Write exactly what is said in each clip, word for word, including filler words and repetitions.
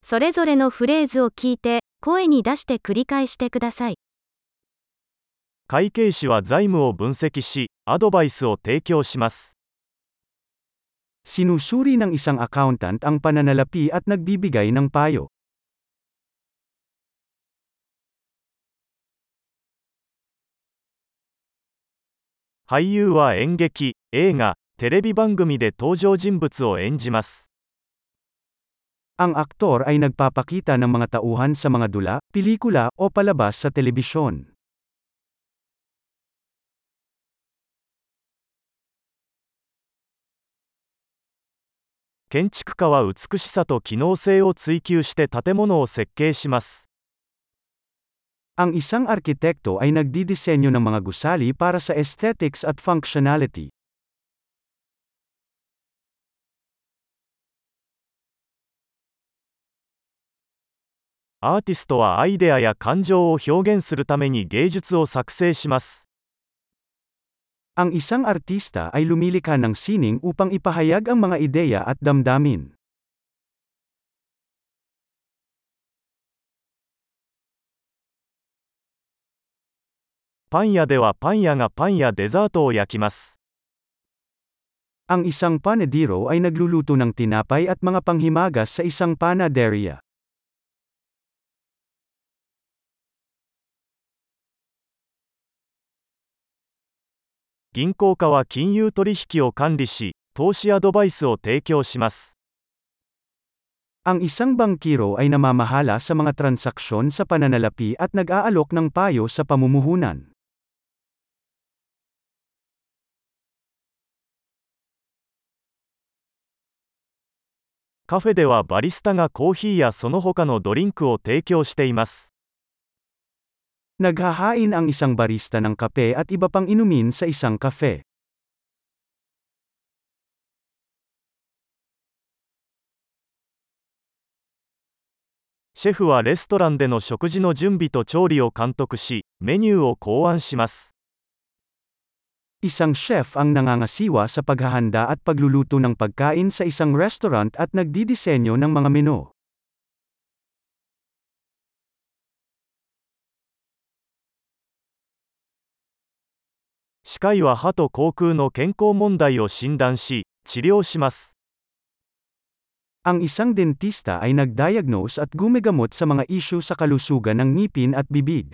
それぞれのフレーズを聞いて、声に出して繰り返してください。 会計士は財務を分析し、アドバイスを提供します。 Sinusuri ng isang accountant ang pananalapi at nagbibigay ng payo. 俳優は演劇、映画、テレビ番組で登場人物を演じます。 Ang aktor ay nagpapakita ng mga tauhan sa mga dula, pelikula, o palabas sa telebisyon. 建築家は美しさと機能性を追求して建物を設計します。 Ang isang arkitekto ay nagdidisenyo ng mga gusali para sa aesthetics at functionality. アーティストはアイデアや感情を表現するために芸術を作成します。 Ang isang artista ay lumilikha ng sining upang ipahayag ang mga ideya at damdamin. パン屋ではパン屋がパンやデザートを焼きます。 Ang isang panadero ay nagluluto ng tinapay at mga panghimagas sa isang panaderia. 銀行家は金融取引を管理し、投資アドバイスを提供します。 Ang isang bangkiro ay namamahala sa mga transaksyon sa pananalapi at nag-aalok ng payo sa pamumuhunan. カフェではバリスタがコーヒーやその他のドリンクを提供しています。 Naghahain ang isang barista ng kape at iba pang inumin sa isang kafe. シェフはレストランでの食事の準備と調理を監督し、メニューを考案します。 Isang chef ang nangangasiwa sa paghahanda at pagluluto ng pagkain sa isang restaurant at nagdidisenyo ng mga menu. 歯科医は歯と口腔の健康問題を診断し、治療します。 Ang isang dentista ay nagdiagnose at gumagamot sa mga isyu sa kalusugan ng ngipin at bibig.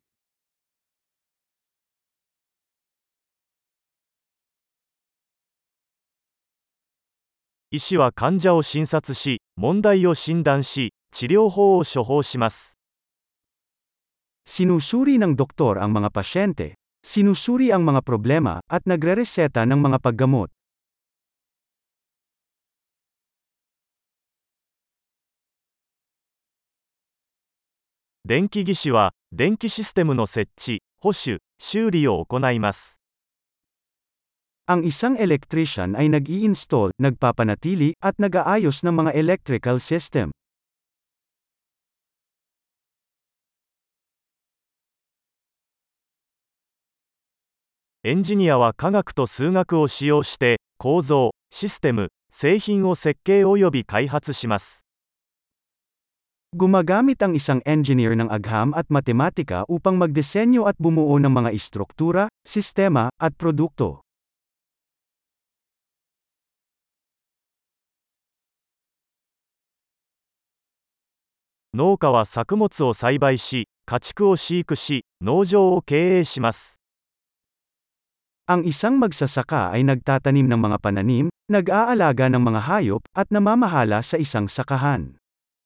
医師は患者を診察し、問題を診断し、治療法を処方します。 Sinusuri ng doktor ang mga pasyente, sinusuri ang mga problema, at nagrereseta ng mga paggamot. 電気技師は、電気システムの設置、保守、修理を行います。 Ang isang electrician ay nag-i-install, nagpapanatili, at nag-aayos ng mga electrical system. エンジニアは科学と数学を使用して、構造、システム、製品を設計および開発します。 Gumagamit ang isang engineer ng agham at matematika upang magdisenyo at bumuo ng mga istruktura, sistema, at produkto. 農家は作物を栽培し、家畜を飼育し、農場を経営します。 Ang isang magsasaka ay nagtatanim ng mga pananim, nag-aalaga ng mga hayop, at namamahala sa isang sakahan.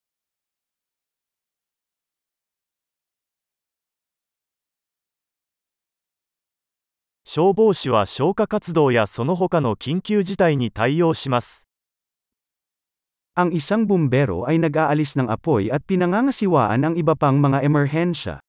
消防士は消火活動やその他の緊急事態に対応します。 Ang isang bumbero ay nag-aalis ng apoy at pinangangasiwaan ang iba pang mga emerhensya.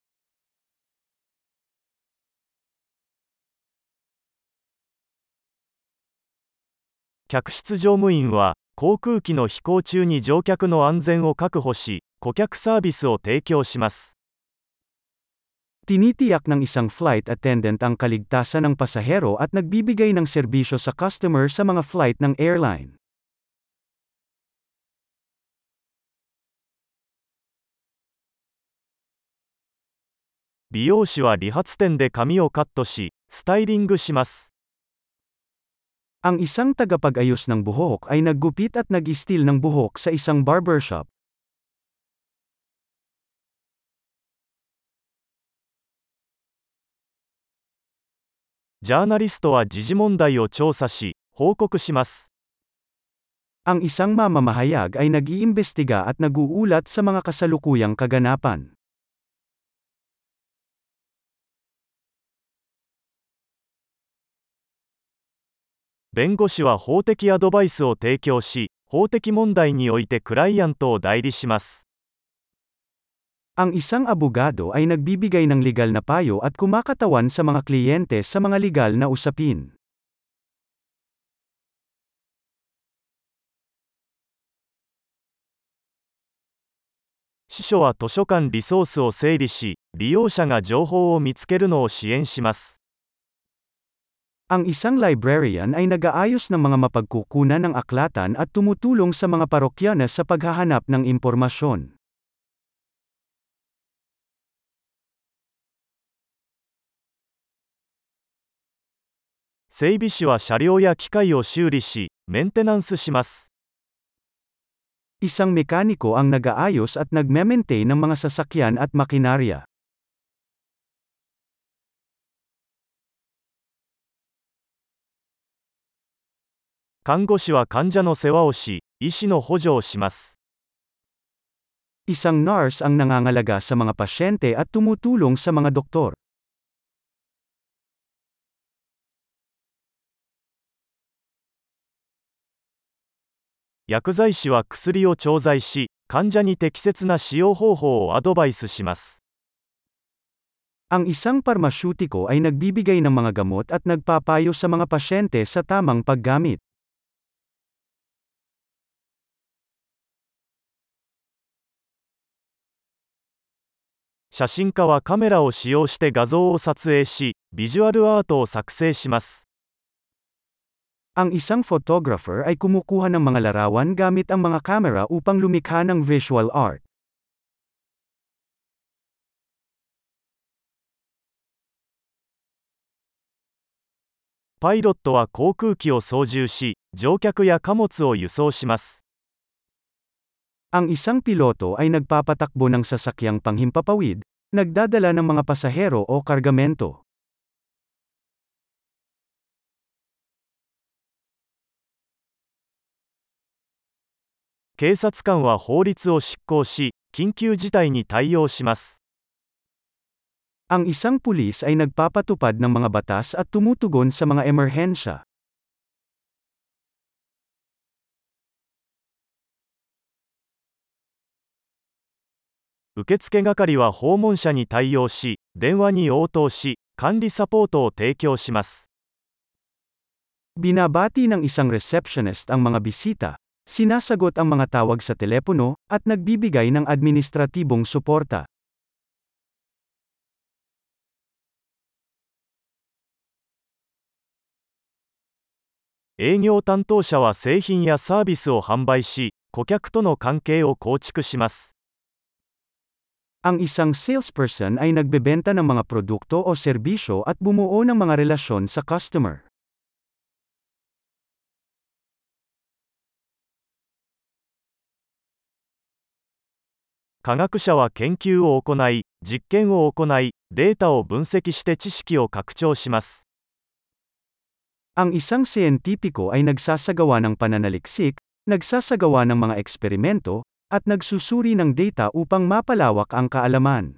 客室乗務員は、航空機の飛行中に乗客の安全を確保し、顧客サービスを提供します。 Tinitiyak ng isang flight attendant ang kaligtasan ng pasahero at nagbibigay ng serbisyo sa customer sa mga flight ng airline. 美容師は理髪店で髪をカットし、スタイリングします。 Ang isang tagapag-ayos ng buhok ay naggupit at nag-istil ng buhok sa isang barbershop. ジャーナリストは時事問題を調査し、報告します。 Ang isang mamamahayag ay nag-iimbestiga at nag-uulat sa mga kasalukuyang kaganapan. 弁護士は法的アドバイスを提供し、法的問題においてクライアントを代理します。 Ang isang abogado ay nagbibigay ng legal na payo at kumakatawan sa mga kliyente sa mga legal na usapin. 司書は図書館リソースを整理し、利用者が情報を見つけるのを支援します。 Ang isang librarian ay nag-aayos ng mga mapagkukunan ng aklatan at tumutulong sa mga parokyana sa paghahanap ng impormasyon. 整備士は車両や機械を修理し、メンテナンスします。 Isang mekaniko ang nag-aayos at nagme-maintain ng mga sasakyan at makinarya. 看護師は患者の世話をし、医師の補助をします。 Isang nurse ang nangangalaga sa mga pasyente at tumutulong sa mga doktor. 薬剤師は薬を調剤し、患者に適切な使用方法をアドバイスします。 Ang isang parmasyutiko ay nagbibigay ng mga gamot at nagpapayo sa mga pasyente sa tamang paggamit. 写真家はカメラを使用して画像を撮影し、ビジュアルアートを作成します。 Ang isang photographer ay kumukuha ng mga larawan gamit ang mga kamera upang lumikha ng visual art. パイロットは航空機を操縦し、乗客や貨物を輸送します。 Ang isang piloto ay nagpapatakbo ng sasakyang panghimpapawid, nagdadala ng mga pasahero o kargamento. 警察官は法律を執行し、緊急事態に対応します。 Ang isang pulis ay nagpapatupad ng mga batas at tumutugon sa mga emerhensya. 受付係は訪問者に対応し、電話に応答し、管理サポートを提供します。 Binabati ng isang receptionist ang mga bisita, sinasagot ang mga tawag sa telepono, at nagbibigay ng administratibong suporta. 営業担当者は製品やサービスを販売し、顧客との関係を構築します。 Ang isang salesperson ay nagbebenta ng mga produkto o serbisyo at bumuo ng mga relasyon sa customer. 科学者は研究を行い、実験を行い、データを分析して知識を拡張します。 Ang isang siyentipiko ay nagsasagawa ng pananaliksik, nagsasagawa ng mga eksperimento, at nagsusuri ng data upang mapalawak ang kaalaman.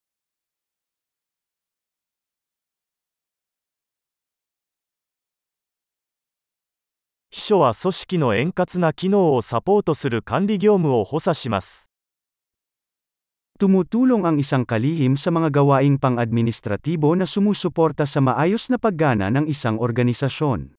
秘書は組織の円滑な機能をサポートする管理業務を補佐します。Tumutulong ang isang kalihim sa mga gawaing pang-administratibo na sumusuporta sa maayos na paggana ng isang organisasyon.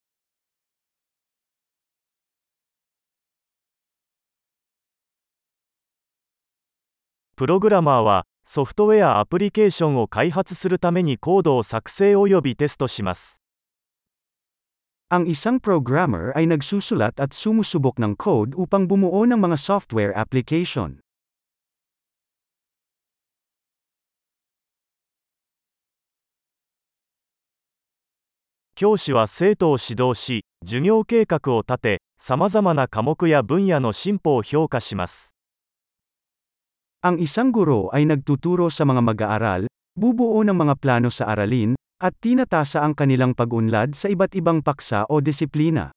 プログラマーは、ソフトウェアアプリケーションを開発するためにコードを作成およびテストします。Ang isang programmer ay nagsusulat at sumusubok ng code upang bumuo ng mga software application. 教師は生徒を指導し、授業計画を立て、様々な科目や分野の進歩を評価します。 Ang isang guro ay nagtuturo sa mga mag-aaral, bubuo ng mga plano sa aralin, at tinatasa ang kanilang pag-unlad sa iba't ibang paksa o disiplina.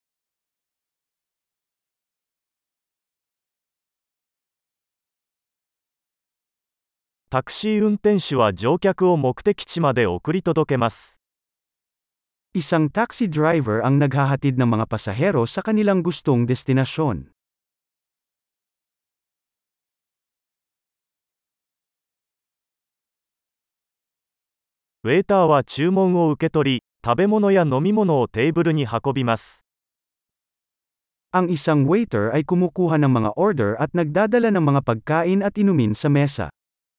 タクシー運転手は乗客を目的地まで送り届けます。 Isang taxi driver ang naghahatid ng mga pasahero sa kanilang gustong destinasyon. ウェイターは注文を受け取り、食べ物や飲み物をテーブルに運びます。 Ang isang waiter ay kumukuha ng mga order at nagdadala ng mga pagkain at inumin sa mesa.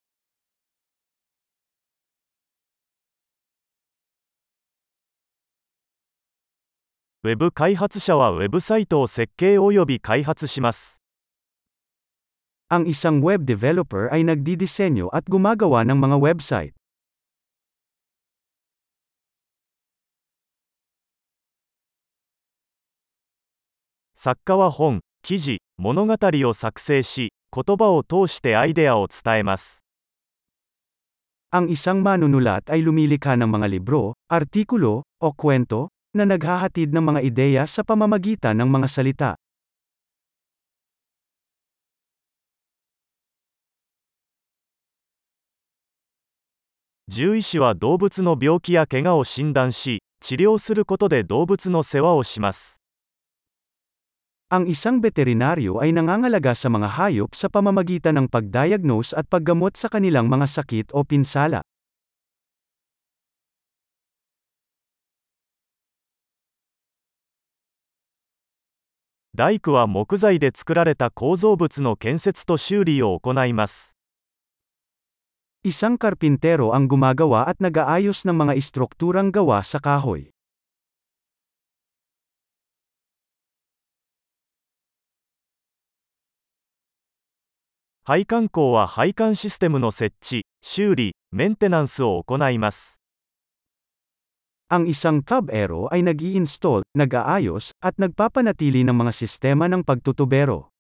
ウェブ開発者はウェブサイトを設計および開発します。 Ang isang web developer ay nagdidisenyo at gumagawa ng mga website. 作家は本、記事、物語を作成し、言葉を通してアイデアを伝えます。 Ang isang manunulat ay lumilikha ng mga libro, artikulo, o kwento, na naghahatid ng mga ideya sa pamamagitan ng mga salita. 獣医師は動物の病気や怪我を診断し、治療することで動物の世話をします。 Ang isang veterinaryo ay nangangalaga sa mga hayop sa pamamagitan ng pagdiagnose at paggamot sa kanilang mga sakit o pinsala. 大工は木材で作られた構造物の建設と修理を行います。 Isang karpintero ang gumagawa at nag-aayos ng mga istrukturang gawa sa kahoy. 配管工は配管システムの設置、修理、メンテナンスを行います。 Ang isang tubero ay nag-i-install, nag-aayos, at nagpapanatili ng mga sistema ng pagtutubero.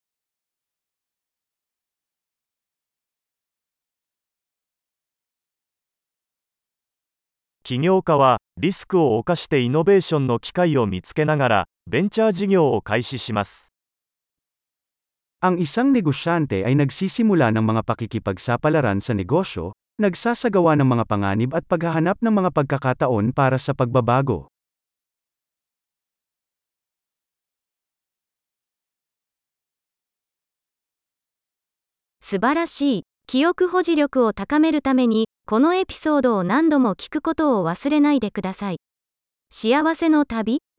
起業家は、リスクを冒してイノベーションの機会を見つけながら、ベンチャー事業を開始します。 Ang isang negosyante ay nagsisimula ng mga pakikipagsapalaran sa negosyo, nagsasagawa ng mga panganib at paghahanap ng mga pagkakataon para sa pagbabago. 素晴らしい。記憶保持力を高めるために、このエピソードを何度も聞くことを忘れないでください。幸せの旅